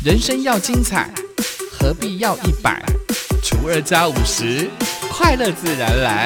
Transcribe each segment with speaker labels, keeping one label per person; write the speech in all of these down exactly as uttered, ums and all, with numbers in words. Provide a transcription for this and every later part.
Speaker 1: 人生要精彩，何必要一百除二加五十，快乐自然来。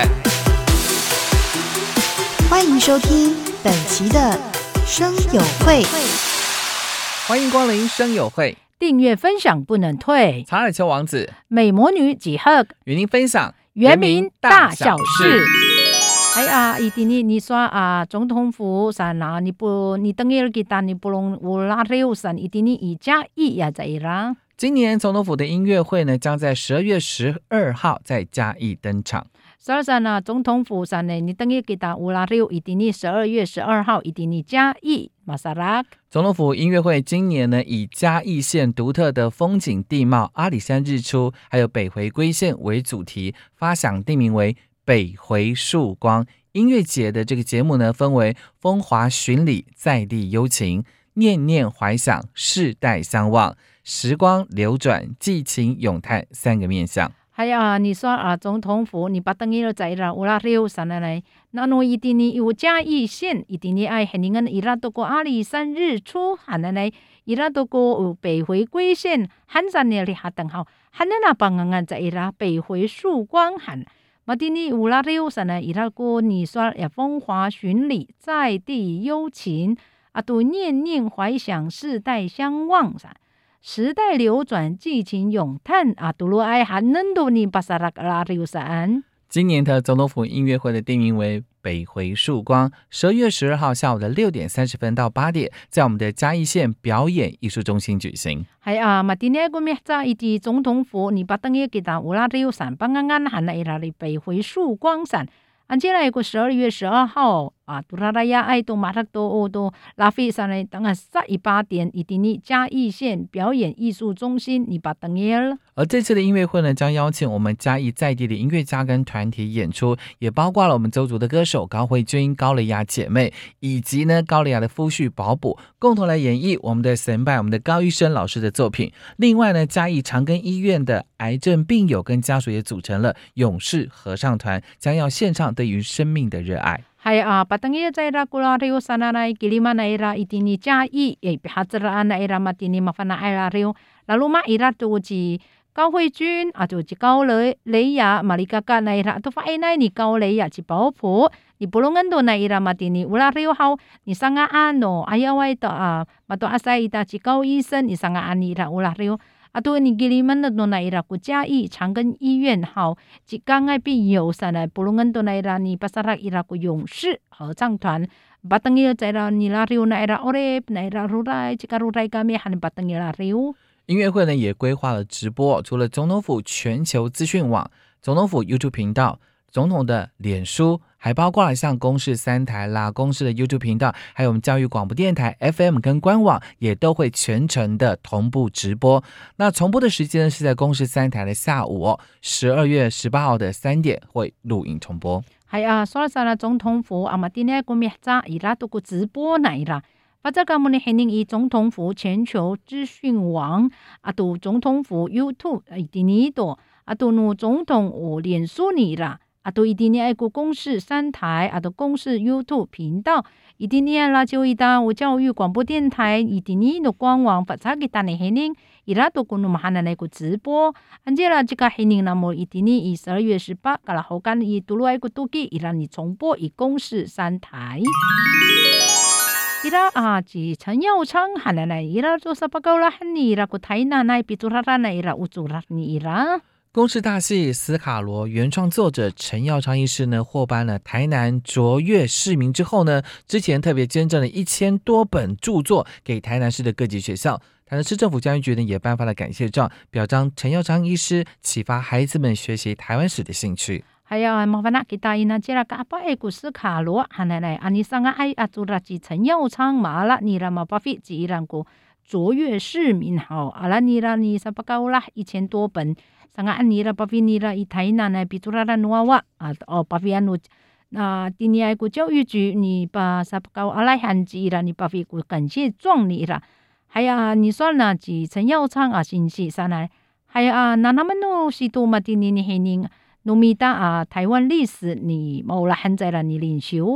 Speaker 2: 欢迎收听本期的声友会，
Speaker 1: 欢迎光临声友会，
Speaker 3: 订阅分享不能退。
Speaker 1: 查尔丘王子、
Speaker 3: 美魔女几何
Speaker 1: 与您分享
Speaker 3: 原民大小事。哎呀，一定你你说啊，总统府上啊，你不你等于给他你不能无拉六上，一定你一加一呀在啦。
Speaker 1: 今年总统府的音乐会呢，将在十二月十二号在嘉义登场。
Speaker 3: 所以说呢，总统府上呢，你等于给他无拉六，一定你十二月十二号，一定你嘉义马萨拉。
Speaker 1: 总统府音乐会今年呢，以嘉义县独特的风景地貌、阿里山日出，还有北回归线为主题，发想定名为北回曙光。音乐节的这个节目呢，分为风华巡礼、在地幽情、念念怀想、世代相望、时光流转、寄情咏叹三个面向。
Speaker 3: 还有啊，你说啊，总统府你把等于在啦，乌拉六上来，那侬一定你有嘉义县，一定你爱很多人伊拉都过阿里山日出，喊来来，伊拉都过北回归线，喊上那里哈等好，喊那帮人啊在伊拉北回曙光喊。马丁尼乌拉六上呢，伊拉过你说也风华巡礼，在地幽情啊，都念念怀想，世代相望噻。时代流转，寄情咏叹啊，杜鲁埃还能多尼巴萨拉拉六山。
Speaker 1: 今年的总统府音乐会的定名为北回曙光，十二月十二号下午的六点三十分到八点，在我们的嘉义县表演艺术中心举行。
Speaker 3: 系啊，嘛今年个咩在一啲总统府，你把等于给他乌拉六山，帮安安喊来拉里北回曙光山。按接来个十二月十二号啊，杜拉拉亚爱多马特多欧多拉菲上来，等下十一八点，一定你嘉义县表演艺术中心，你把等于了。
Speaker 1: 而这次的音乐会呢，将邀请我们嘉义在地的音乐家跟团体演出，也包括了我们邹族的歌手高慧君、高蕾雅姐妹，以及呢高蕾雅的夫婿保卜，共同来演绎我们的神拜我们的高医生老师的作品。另外呢，嘉义长庚医院的癌症病友跟家属也组成了勇士合唱团，将要献唱对于生命的热爱。
Speaker 3: 系啊，把等于在拉古拉rio sana na kilima na ira itini jai e bihatra na ira matini mafana ira rio lalu ma ira tu ji 高慧君啊，就高蕾蕾雅马里嘎嘎那ira tu fa ina ni 高蕾雅ji保普你不能多那ira matini ula rio hau ni sanga ano ayawai to啊，mato asai ita ji 高医生你 sanga ani ira ula rio啊，对你给你们的那伊拉国嘉义长庚医院好，即刚爱必有上来，不论都那伊拉你巴萨拉伊拉国勇士合唱团，巴登伊在拉你拉rio那伊拉欧雷那伊拉如来，即个如来干咩喊巴登伊拉rio。
Speaker 1: 音乐会呢也规划了直播，除了总统府全球资讯网、总统府 YouTube 频道、总统的脸书，还包括了像公视三台啦、公视的 YouTube 频道，还有我们教育广播电台 F M 跟官网也都会全程的同步直播。那重播的时间是在公视三台的下午哦，十二月十八号的三点会录影重播。
Speaker 3: 系啊，所以说总统府啊嘛，今天个咩子伊拉都个直播来啦。或者咁我哋肯定以总统府全球资讯网啊，到总统府 YouTube 一定呢度啊，到no总统府脸书呢啦。啊，都一定要爱国公视三台啊，都公视 YouTube 频道，一定要啦就一单我教育广播电台，一定要的官网发查给大家黑人，伊拉都跟我们喊来个直播，按这啦这个黑人那么一定要以十二月十八，噶啦后干以独路爱国都给伊拉你重播以公视三台。伊拉啊，是陈耀昌喊来来，伊拉做啥报告啦？喊你伊拉个台南那比做啥啦？伊拉有做啦你伊拉。
Speaker 1: 公视大戏《斯卡罗》原创作者陈耀昌医师呢，获颁了台南卓越市民之后呢，之前特别捐赠了一千多本著作给台南市的各级学校。台南市政府教育局呢也颁发了感谢状，表彰陈耀昌医师启发孩子们学习台湾史的兴趣。
Speaker 3: 还有麻烦那kita ina jela ka apa e ku斯卡罗喊来来，安尼上个爱啊做了几陈耀昌马啦，你啦嘛巴菲几让个卓越市民好，阿拉你啦你啥不高啦一千多本。上个安尼啦，巴菲尼啦，以台南呢，比做啦啦努瓦瓦啊，哦，巴菲安努那今年个教育局，你把啥不高阿拉汉字啦，你巴菲个感谢状你啦，还有你说呢，几陈耀昌啊，信息上来，还有啊，那他们no是多嘛？今年你黑人努米达啊，台湾历史你冇啦，现在啦，你领袖。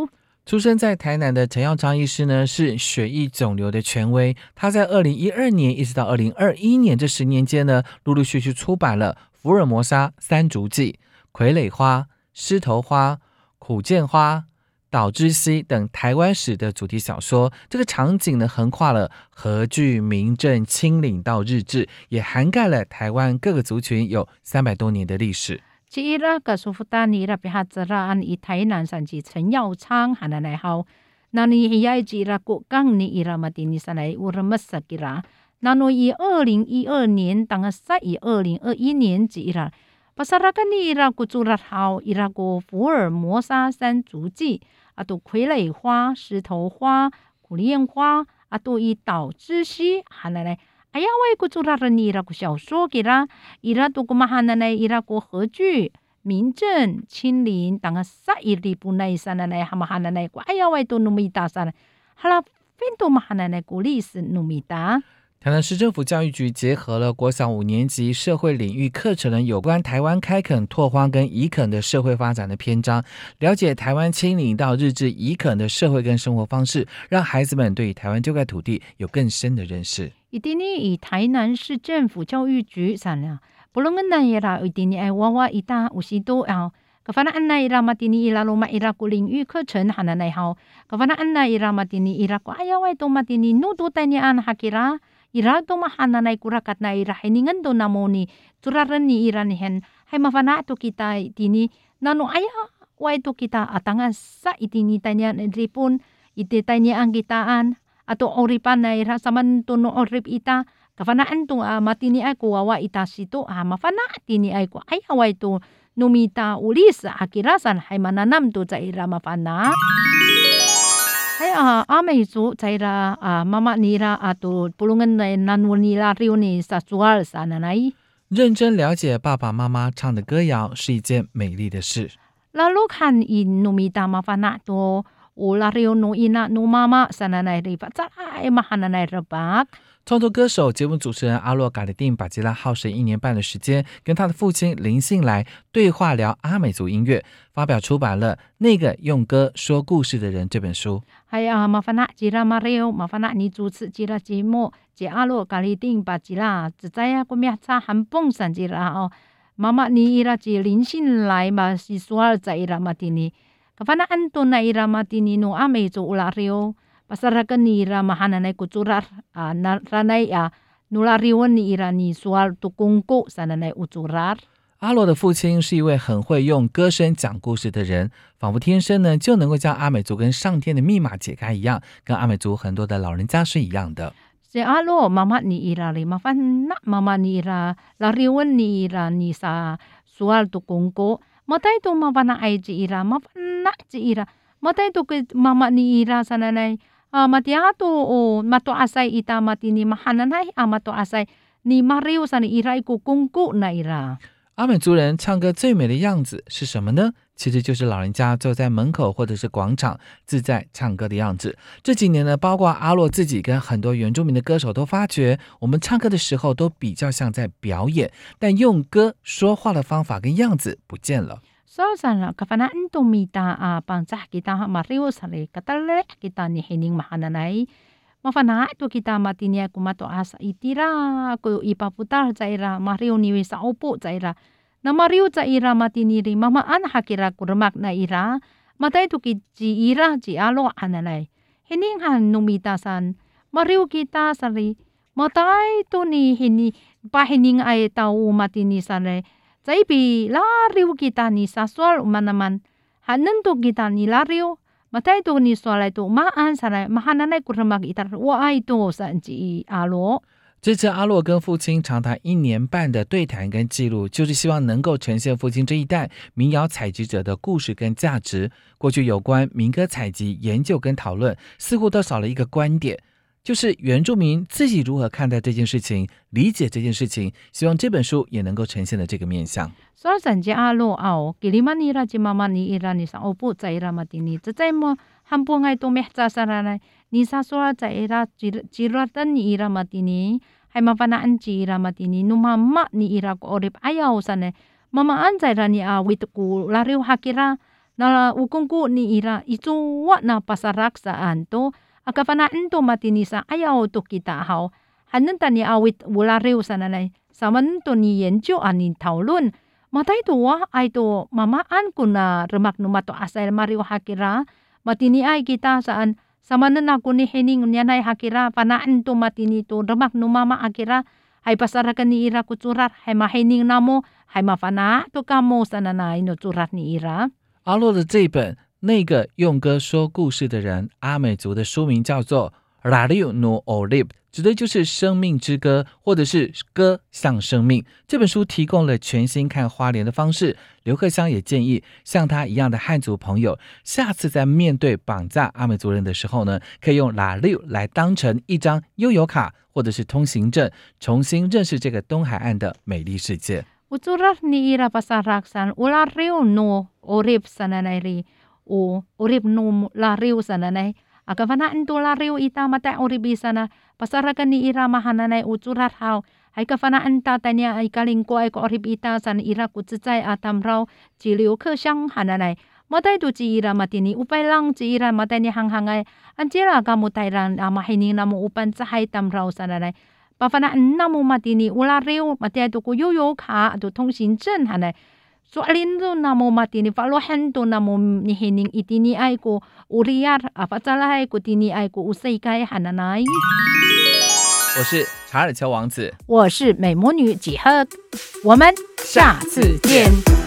Speaker 1: 出生在台南的陈耀昌医师呢，是血液肿瘤的权威。他在二零一二年一直到二零二一年这十年间呢，陆陆续续出版了福尔摩沙三足记、傀儡花、狮头花、苦剑花、岛之西等台湾史的主题小说。这个场景呢，横跨了荷据、明郑、清领到日治，也涵盖了台湾各个族群，有三百多年的历史。
Speaker 3: ci ira ka sufutani ira pihatsaraan i Thailand san ci Chen Yao Chang hananai hau nani hiyai ci ira ku kang ni ira matini sanai uramas sakira nano i二零一二年当sa i二零二一年ci ira pasarakan ni ira ku curat hau ira ku 福尔摩沙三足记 atau 傀儡花、石头花、苦楝花 atau i 岛之西 hananai Ayawai ku curaran ira ku 小说 kira ira tu kumahananay ira ku 荷据、明郑、清林 tanga sa iri punay sananay hamahananay ku ayawai tu numita sana hala pintu mahananay ku 历史 numita。
Speaker 1: 台南市政府教育局结合了国小五年级社会领域课程的有关台湾开垦、拓荒跟移垦的社会发展的篇章，了解台湾清领到日治移垦的社会跟生活方式，让孩子们对台湾这块土地有更深的认识。
Speaker 3: 一定以台南市政府教育局sana bulungan na ira itini ay wawa ita usito ao kafanaan na ira matini ira luma ira ku 领域课程 hananay hao kafanaan na ira matini ira ku ayaway to matini nudu tanyaan hakira ira to mahananay kurakat na ira hiningan do namoni turaran ni ira nihen hay mafana to kita itini nano ayaway to kita atangan sa itini tanyaan ripun iti tanyaan kitaan atau oripan na ira saman to no orip ita kafanaan to uh, matini ay kuwawa ita sito ah, mafana tini ay ko ayaway to numita ulis akirasan hay mananam to sa ira mafana ay uh, amay so sa ira uh, mama nira ato pulungan na nanunila rio ni sa sual sa nanay。
Speaker 1: 认真了解爸爸妈妈唱的歌谣是一件美丽的事。
Speaker 3: Lalo kan in numita mafana to ula rio no ina no mama sa nanay ripat sa ay mahananay rabak。
Speaker 1: 创作歌手、节目主持人阿洛嘎里定把吉拉耗时一年半的时间，跟他的父亲林信来对话聊阿美族音乐，发表出版了《那个用歌说故事的人》这本书。
Speaker 3: hay uh, mafana jira Mario mafana ni 主持 jira 节目 je alo kali ding ba jira zaya kumiatsa hampong san jira oh mama ni ira je 林信来 ma si sual za ira matini kafana anto na ira matini no ame zo ulario pasarakan ni ira mahananay kucurar uh, ranay uh, nulariwan ni ira ni sual tukungko sananay ucurar。
Speaker 1: 阿罗的父亲是一位很会用歌声讲故事的人，仿佛天生呢就能够将阿美族跟上天的密码解开一样，跟阿美族很多的老人家是一样的。
Speaker 3: Si alo mama ni ira ri mafana mama ni ira lariwan ni ira ni sa sual tukungko matay to mafana ay ji ira mafana ji ira matay to mama ni ira sananay Uh, matiato o mato asay ita matini mahananay a mato asay ni Mario sa ni ira ikukungku na ira。
Speaker 1: 阿美族人唱歌最美的样子是什么呢？其实就是老人家坐在门口或者是广场自在唱歌的样子。这几年呢，包括阿洛自己跟很多原住民的歌手都发觉，我们唱歌的时候都比较像在表演，但用歌说话的方法跟样子不见了。
Speaker 3: So sana kafanaan tumita uh, pangsah kita Mario sari katale kita ni hining mahananay mafana to kita matinya kumato asa itira ko ipaputar zaira Mario ni sa opo zaira na Mario zaira matiniri mama an hakira kurmak na ira matay to ki ji ira ji alo ananay hining han numita san Mario kita sari matay to ni hini pahining ay tao matini sari Zaibi lariw kita ni saswal umanaman hanan to kita ni lariw matay to ni swalay to maan sana mahananay kurmag itar waay to sa ji alo。
Speaker 1: 这次阿洛跟父亲长达一年半的对谈跟记录，就是希望能够呈现父亲这一代民谣采集者的故事跟价值。过去有关民歌采集研究跟讨论，似乎都少了一个观点，就是原住民自己如何看待这件事情，理解这件事情，希望这本书也能够呈现的这个面向。
Speaker 3: So sanje alo ao kiliman ira ji mama ni ira ni sa opo sa ira matini tsay mo hampung ay tumehsa saranay ni sa sual sa ira jiratan ni ira matini hay mafanaan ji ira matini numama ni ira ko orip ayaw sanay mamaan sa ira ni awit ko lariw hakira na ukungku ni ira isuwa na pasarak saan to akafanaan to matini sa ayaw to kita haw hanan tani awit wala rew sananay saman to ni yenjo anin taulun matay to wa ay to mamaan ko na remak numato asay mariw hakira matini ay kita saan samanan ako ni hening nyanay hakira panaan to matini to remak numama akira hay pasarakan ni ira kutsurat hay mahening namo hay mafana to kamo sananay no tsurat ni ira。
Speaker 1: 阿洛的这本《那个用歌说故事的人》阿美族的书名叫做 Rariu no Orib， 指的就是生命之歌，或者是歌像生命。这本书提供了全新看花莲的方式。刘克襄也建议像他一样的汉族朋友，下次在面对绑架阿美族人的时候呢，可以用 Rariu 来当成一张悠游卡或者是通行证，重新认识这个东海岸的美丽世界。
Speaker 3: Utsurat ni ira pasaraksan ula riu no orib sananay ri o orib no la riu sananay akafanaan to la riu ita mata oribi sana pasarakan ni ira mahananay utsurat haw ay kafanaan tatanya ay kalingko ay ko orib ita san ira kutsitsay atam raw jiliw kesyang hananay matay to ci ira matini upay lang ci ira matay ni hanghangay anjira kamutayran amahining na mo upan sa hay tam raw sananay pafanaan na mo matini ula riu matay to ko yoyo ka to tong sinchen hanay so alin to na mo matini falohan to na mo nihining itini ay ko uriyar apatsalahay ko tini ay ko usay kay hananay。
Speaker 1: 我是查尔乔王子，
Speaker 3: 我是美魔女几何，我们下次见。